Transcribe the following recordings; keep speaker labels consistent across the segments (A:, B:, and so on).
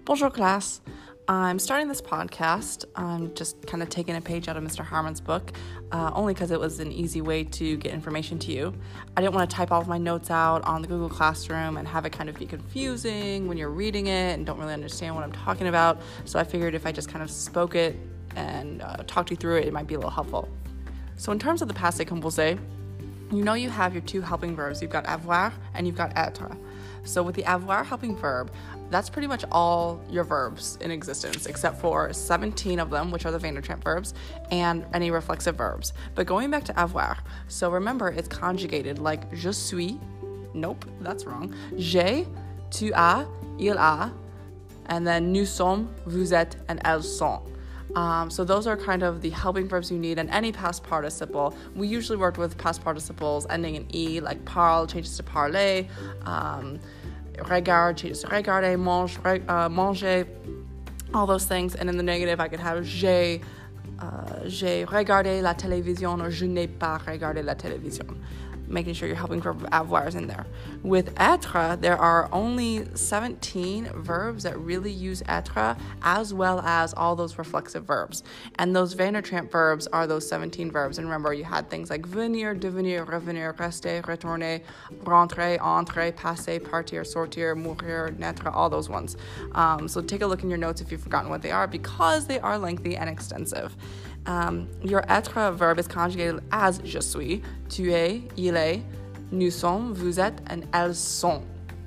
A: Bonjour class. I'm starting this podcast. I'm just kind of taking a page out of Mr. Harmon's book, only because it was an easy way to get information to you. I didn't want to type all of my notes out on the Google Classroom and have it kind of be confusing when you're reading it and don't really understand what I'm talking about. So I figured if I just kind of spoke it and talked you through it, it might be a little helpful. So in terms of the passé composé, you know you have your two helping verbs. You've got avoir and you've got être. So with the avoir helping verb, that's pretty much all your verbs in existence, except for 17 of them, which are the Vandertramp verbs, and any reflexive verbs. But going back to avoir, so remember it's conjugated like je suis, nope, that's wrong, j'ai, tu as, il a, and then nous sommes, vous êtes, and elles sont. So those are kind of the helping verbs you need in any past participle. We usually worked with past participles ending in E, like parle changes to parler, regarde changes to regarder, manger, all those things. And in the negative, I could have j'ai regardé la télévision or je n'ai pas regardé la télévision, making sure your helping verb avoir is in there. With être, there are only 17 verbs that really use être, as well as all those reflexive verbs. And those Vandertramp verbs are those 17 verbs. And remember, you had things like venir, devenir, revenir, rester, retourner, rentrer, entrer, passer, partir, sortir, mourir, naître, all those ones. So take a look in your notes if you've forgotten what they are, because they are lengthy and extensive. Your être verb is conjugated as je suis, tu es, il est, nous sommes, vous êtes, and elles sont.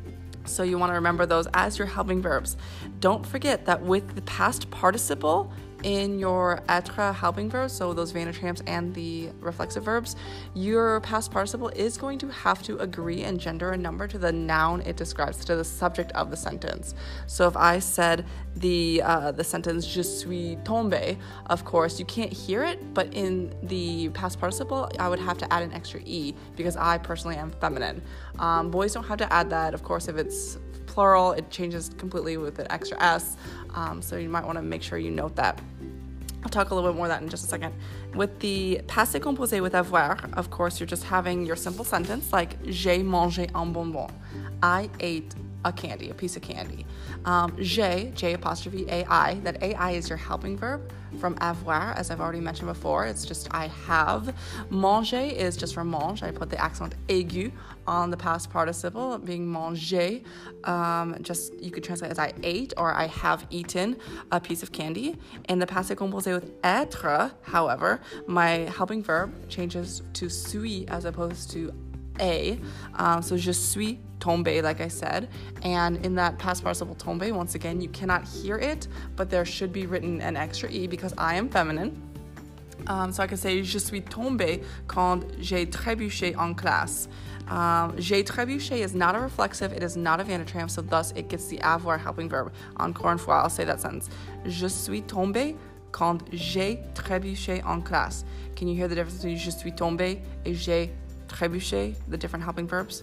A: So you want to remember those as your helping verbs. Don't forget that with the past participle in your être helping verbs, so those Vandertramps and the reflexive verbs, your past participle is going to have to agree in gender and number to the noun it describes, to the subject of the sentence. So if I said the sentence je suis tombé, of course you can't hear it, but in the past participle I would have to add an extra E because I personally am feminine. Boys don't have to add that. Of course, if it's plural, it changes completely with an extra S, so you might want to make sure you note that. I'll talk a little bit more of that in just a second. With the passé composé with avoir, of course, you're just having your simple sentence like j'ai mangé un bonbon. I ate a piece of candy. J'ai, J apostrophe AI, that AI is your helping verb from avoir, as I've already mentioned before. It's just I have. Manger is just from mange. I put the accent aigu on the past participle, being manger. Just you could translate as I ate or I have eaten a piece of candy. In the passé composé with être, however, my helping verb changes to suis as opposed to a. So je suis tombé, like I said, and in that past participle tombé, once again, you cannot hear it, but there should be written an extra E because I am feminine. So I can say je suis tombé quand j'ai trébuché en classe. J'ai trébuché is not a reflexive, it is not a Vandertramp, so thus it gets the avoir helping verb. Encore une fois, I'll say that sentence. Je suis tombé quand j'ai trébuché en classe. Can you hear the difference between je suis tombé et j'ai trébuché, the different helping verbs?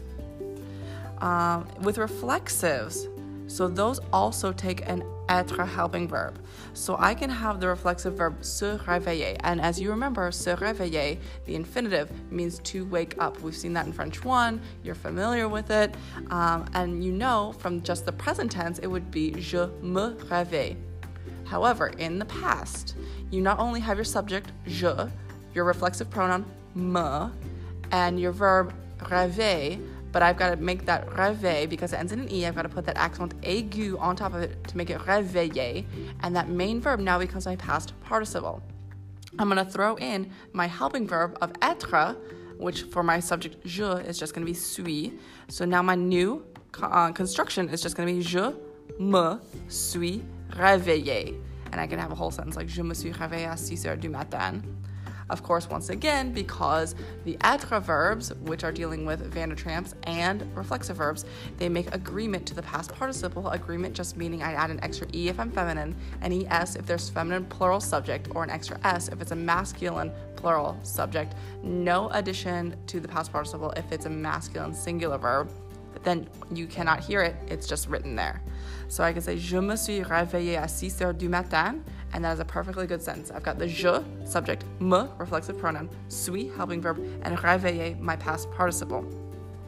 A: With reflexives, so those also take an être helping verb. So I can have the reflexive verb se réveiller, and as you remember, se réveiller, the infinitive, means to wake up. We've seen that in French 1, you're familiar with it, and you know from just the present tense, it would be je me réveille. However, in the past, you not only have your subject, je, your reflexive pronoun, me, and your verb réveiller, but I've got to make that réveil, because it ends in an E, I've got to put that accent aigu on top of it to make it réveiller, and that main verb now becomes my past participle. I'm going to throw in my helping verb of être, which for my subject je is just going to be suis. So now my new construction is just going to be je me suis réveillé. And I can have a whole sentence like je me suis réveillé à 6 heures du matin. Of course, once again, because the être verbs, which are dealing with Vandertramps and reflexive verbs, they make agreement to the past participle. Agreement just meaning I add an extra E if I'm feminine, an ES if there's feminine plural subject, or an extra S if it's a masculine plural subject. No addition to the past participle if it's a masculine singular verb. Then you cannot hear it, it's just written there. So I can say, je me suis réveillé à 6 heures du matin, and that is a perfectly good sentence. I've got the je, subject, me, reflexive pronoun, suis, helping verb, and réveiller, my past participle.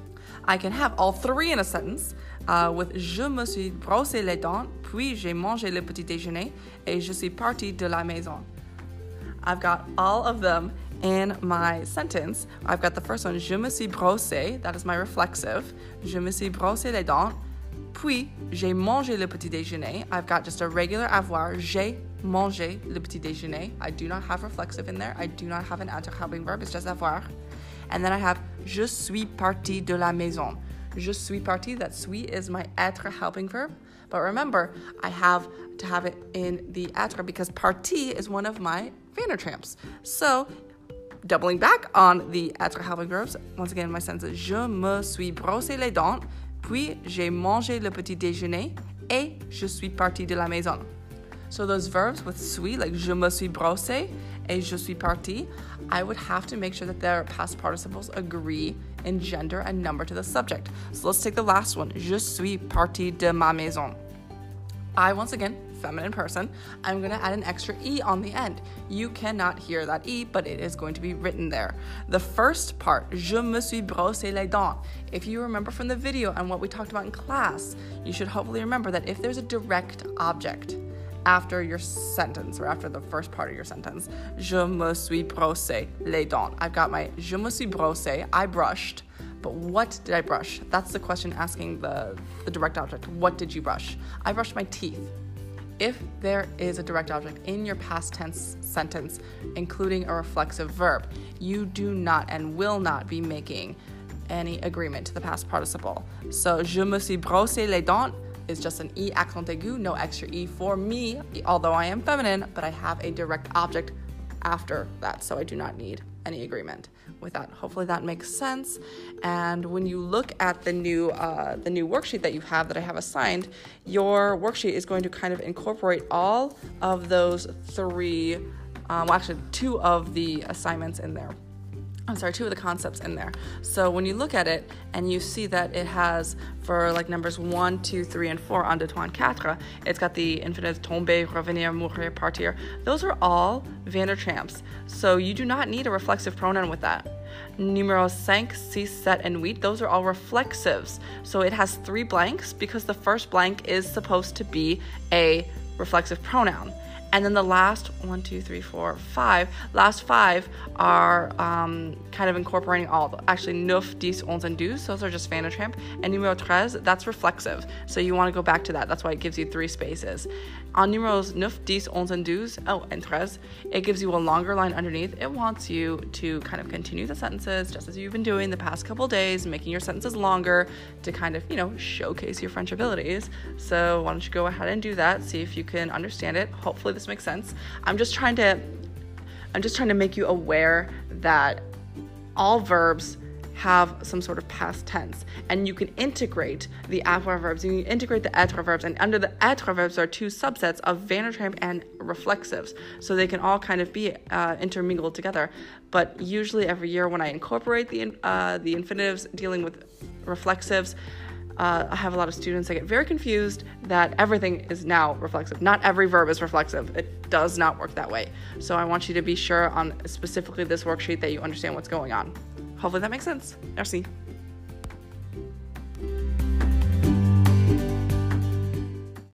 A: I can have all three in a sentence with je me suis brossé les dents, puis j'ai mangé le petit déjeuner, et je suis parti de la maison. I've got all of them in my sentence. I've got the first one, je me suis brossé, that is my reflexive. Je me suis brossé les dents, puis j'ai mangé le petit déjeuner. I've got just a regular avoir, j'ai mangé le petit déjeuner. I do not have reflexive in there. I do not have an être helping verb, it's just avoir. And then I have je suis parti de la maison. Je suis parti, that suis is my être helping verb. But remember, I have to have it in the être because parti is one of my Vandertramps. So, doubling back on the être helping verbs, once again, my sentence is je me suis brossé les dents, puis j'ai mangé le petit déjeuner, et je suis parti de la maison. So those verbs with suis, like je me suis brossé et je suis parti, I would have to make sure that their past participles agree in gender and number to the subject. So let's take the last one. Je suis parti de ma maison. I, once again, feminine person, I'm going to add an extra E on the end. You cannot hear that E, but it is going to be written there. The first part, je me suis brossé les dents. If you remember from the video and what we talked about in class, you should hopefully remember that if there's a direct object after your sentence or after the first part of your sentence, je me suis brossé les dents. I've got my je me suis brossé, I brushed, but what did I brush? That's the question asking the direct object. What did you brush? I brushed my teeth. If there is a direct object in your past tense sentence, including a reflexive verb, you do not and will not be making any agreement to the past participle. So, je me suis brossé les dents is just an E accent aigu, no extra E for me, although I am feminine, but I have a direct object after that, so I do not need any agreement with that. Hopefully that makes sense. And when you look at the new worksheet that you have that I have assigned, your worksheet is going to kind of incorporate all of those three, two of the assignments in there. Two of the concepts in there. So when you look at it and you see that it has, for like numbers 1, 2, 3, and 4, un, deux, trois, quatre, it's got the infinitive tomber, revenir, mourir, partir. Those are all Vandertramps. So you do not need a reflexive pronoun with that. Numéros 5, 6, 7, and 8, those are all reflexives. So it has 3 blanks because the first blank is supposed to be a reflexive pronoun. And then the last 1, 2, 3, 4, 5, last 5 are kind of incorporating all. Actually, 9, 10, 11, and 12, those are just Vandertramp. And numéro 13, that's reflexive. So you want to go back to that. That's why it gives you 3 spaces. On numéros 9, 10, 11, and 12, and 13, it gives you a longer line underneath. It wants you to kind of continue the sentences just as you've been doing the past couple days, making your sentences longer to kind of, showcase your French abilities. So why don't you go ahead and do that, see if you can understand it. Hopefully this makes sense. I'm just trying to make you aware that all verbs have some sort of past tense, and you can integrate the avoir verbs, you can integrate the être verbs, and under the être verbs are 2 subsets of Vandertramp and reflexives, so they can all kind of be intermingled together. But usually every year when I incorporate the infinitives dealing with reflexives, I have a lot of students that get very confused that everything is now reflexive. Not every verb is reflexive. It does not work that way. So I want you to be sure on specifically this worksheet that you understand what's going on. Hopefully that makes sense. Merci.